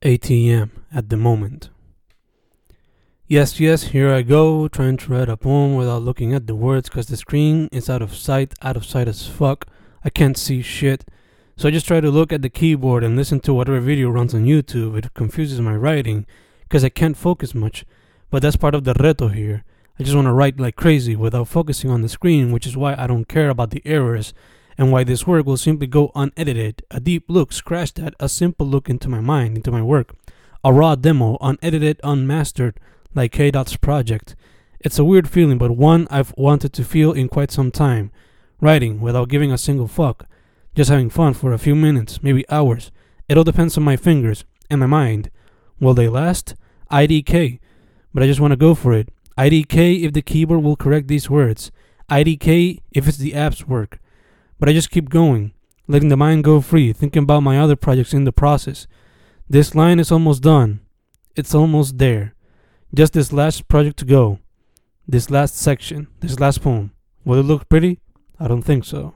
ATM at the moment. Yes, here I go, trying to write a poem without looking at the words because the screen is out of sight as fuck. I can't see shit. So I just try to look at the keyboard and listen to whatever video runs on YouTube. It confuses my writing because I can't focus much, but that's part of the reto here. I just want to write like crazy without focusing on the screen, which is why I don't care about the errors and why this work will simply go unedited. A deep look, scratch that, a simple look into my mind, into my work. A raw demo, unedited, unmastered, like K-Dot's project. It's a weird feeling, but one I've wanted to feel in quite some time. Writing without giving a single fuck. Just having fun for a few minutes, maybe hours. It all depends on my fingers and my mind. Will they last? IDK. But I just want to go for it. IDK if the keyboard will correct these words. IDK if it's the app's work. But I just keep going, letting the mind go free, thinking about my other projects in the process. This line is almost done. It's almost there. Just this last project to go. This last section, this last poem. Will it look pretty? I don't think so.